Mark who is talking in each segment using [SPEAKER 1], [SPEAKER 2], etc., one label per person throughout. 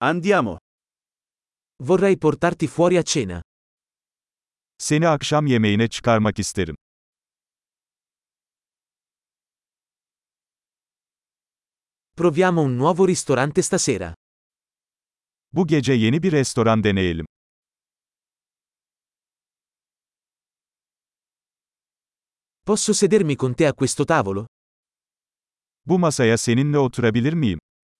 [SPEAKER 1] Andiamo.
[SPEAKER 2] Vorrei portarti fuori a cena.
[SPEAKER 3] Seni akşam yemeğine çıkarmak isterim.
[SPEAKER 2] Proviamo un nuovo ristorante stasera.
[SPEAKER 3] Bu gece yeni bir restoran deneyelim.
[SPEAKER 2] Posso sedermi con te a questo tavolo?
[SPEAKER 3] Bu masaya seninle oturabilir miyim?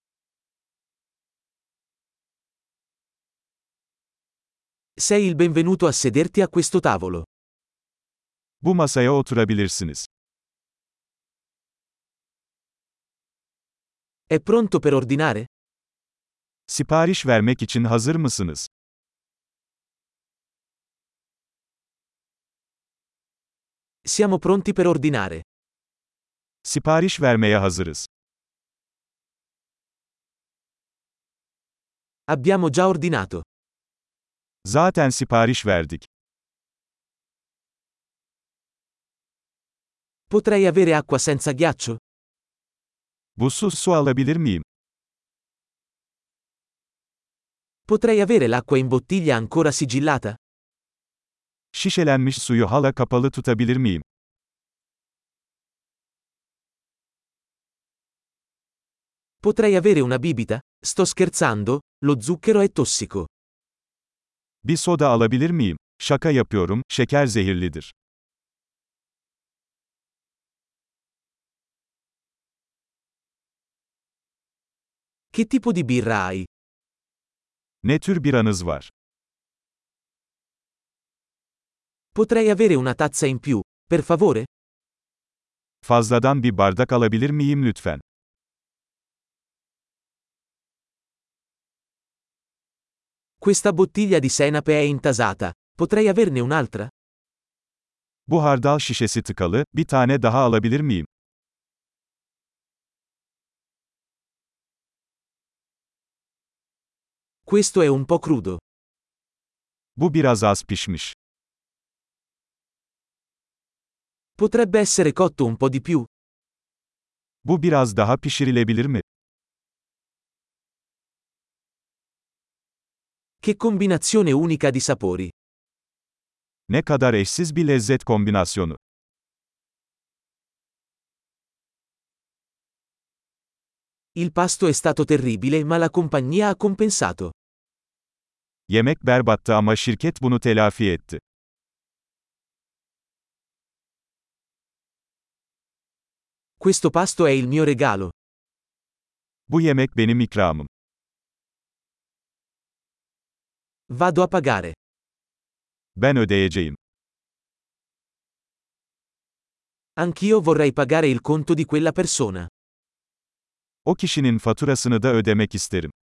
[SPEAKER 2] Sei il benvenuto a sederti a questo tavolo.
[SPEAKER 3] Bu masaya oturabilirsiniz.
[SPEAKER 2] È pronto per ordinare?
[SPEAKER 3] Sipariş vermek için hazır mısınız?
[SPEAKER 2] Siamo pronti per ordinare.
[SPEAKER 3] Sipariş vermeye hazırız.
[SPEAKER 2] Abbiamo già ordinato.
[SPEAKER 3] Zaten sipariş verdik.
[SPEAKER 2] Potrei avere acqua senza ghiaccio?
[SPEAKER 3] Buzsuz su alabilir miyim?
[SPEAKER 2] Potrei avere l'acqua in bottiglia ancora sigillata?
[SPEAKER 3] Şişelenmiş suyu hala kapalı tutabilir miyim?
[SPEAKER 2] Potrei avere una bibita? Sto scherzando, lo zucchero è tossico.
[SPEAKER 3] Bir soda alabilir miyim? Şaka yapıyorum, şeker zehirlidir.
[SPEAKER 2] Che tipo di birra hai?
[SPEAKER 3] Ne tür biranız var?
[SPEAKER 2] Potrei avere una tazza in più, per favore?
[SPEAKER 3] Fazladan bir bardak alabilir miyim lütfen?
[SPEAKER 2] Questa bottiglia di senape è intasata. Potrei averne un'altra?
[SPEAKER 3] Bu hardal şişesi tıkalı, bir tane daha alabilir miyim?
[SPEAKER 2] Questo è un po' crudo.
[SPEAKER 3] Bu biraz az pişmiş.
[SPEAKER 2] Potrebbe essere cotto un po' di più?
[SPEAKER 3] Bu biraz daha pişirilebilir mi?
[SPEAKER 2] Che combinazione unica di sapori.
[SPEAKER 3] Ne kadar eşsiz bir lezzet kombinasyonu.
[SPEAKER 2] Il pasto è stato terribile ma la compagnia ha compensato.
[SPEAKER 3] Yemek berbattı ama şirket bunu telafi etti.
[SPEAKER 2] Questo pasto è il mio regalo.
[SPEAKER 3] Bu yemek benim ikramım.
[SPEAKER 2] Vado a pagare.
[SPEAKER 3] Ben ödeyeceğim.
[SPEAKER 2] Anch'io vorrei pagare il conto di quella persona.
[SPEAKER 3] O kişinin faturasını da ödemek isterim.